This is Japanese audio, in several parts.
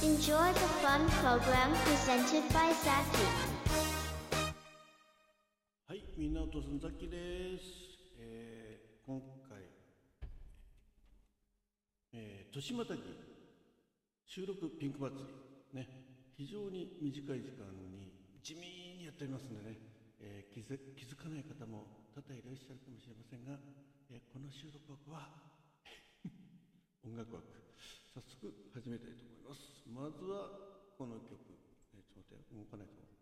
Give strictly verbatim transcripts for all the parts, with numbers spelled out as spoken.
Enjoy the fun program presented by Zaki. はい、みんなお父さんザキです。えー、今回、えー、年またぎ収録ピンク祭りね、非常に短い時間に地味にやっておりますのでね、えー、気づ、気づかない方も多々いらっしゃるかもしれませんが、えー、この収録枠は音楽枠、早速始めたいと思います。まずはこの曲、えー、ちょっと待って、動かないと。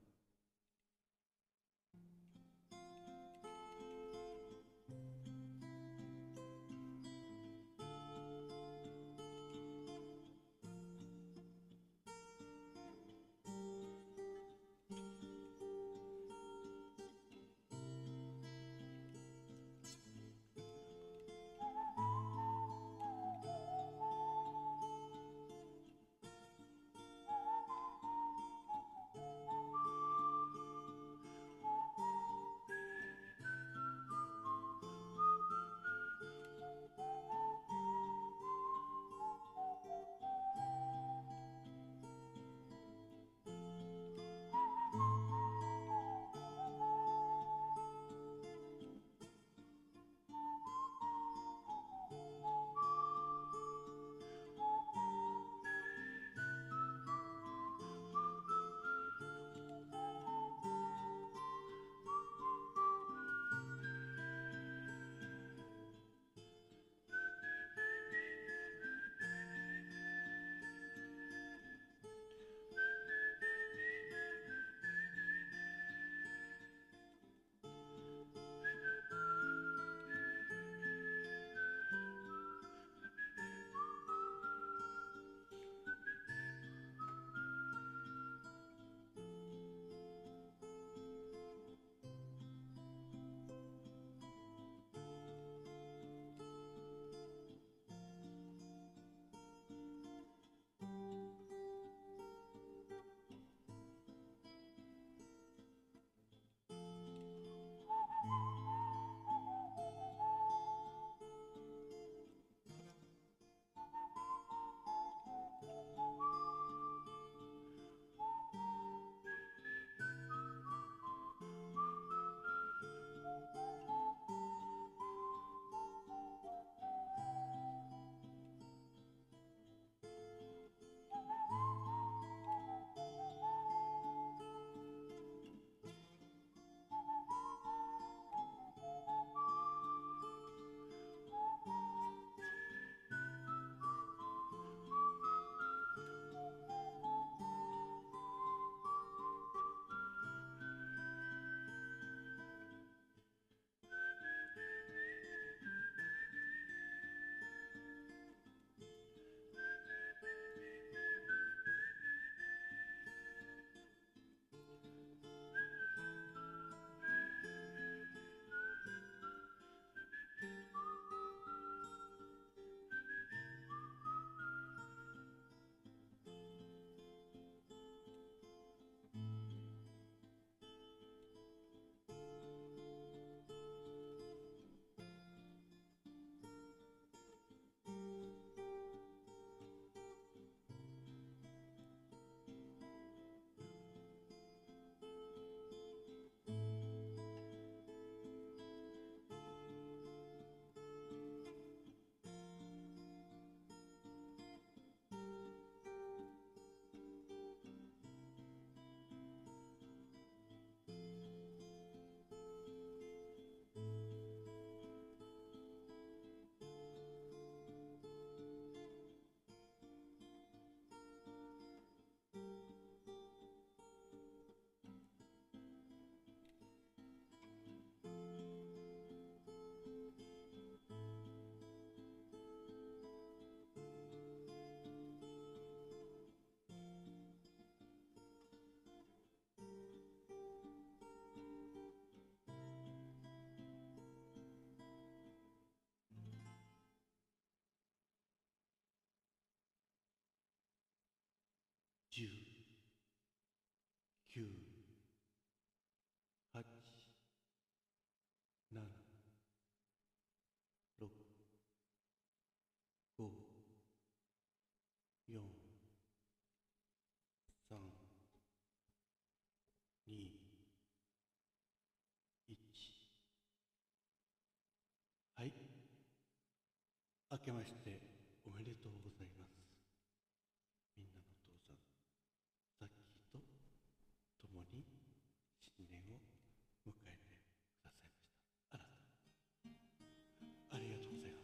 明けましておめでとうございます。みんなのお父さん、ザッキーと共に新年を迎えてくださいました。あなた、ありがとうございます。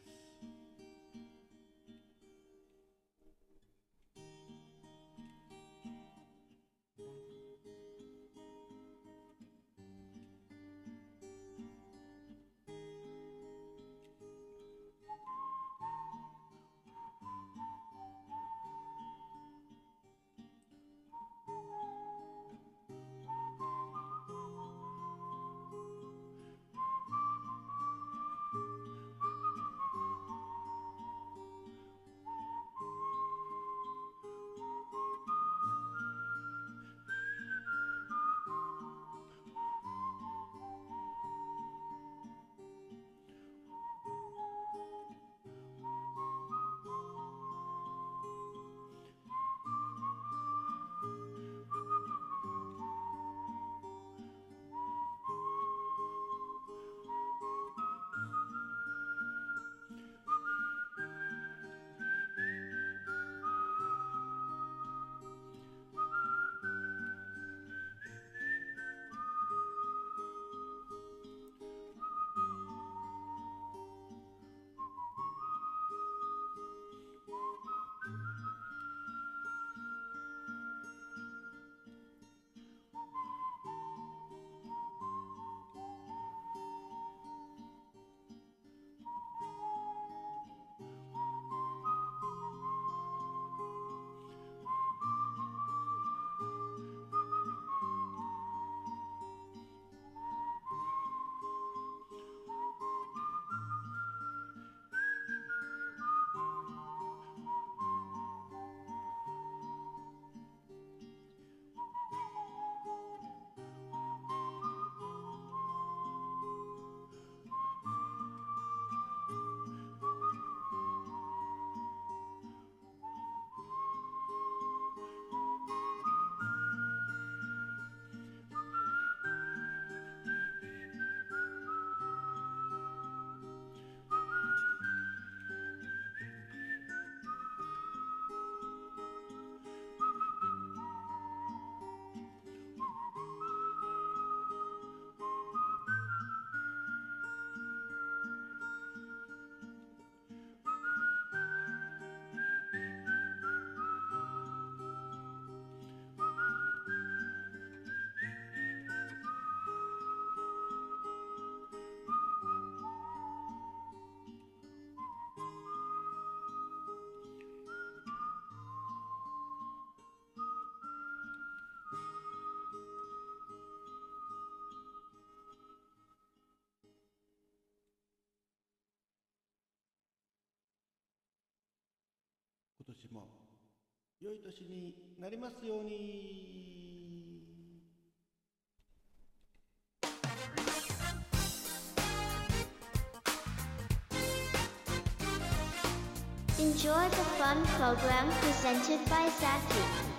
今年も良い年になりますように。 Enjoy the fun program presented by Zaki.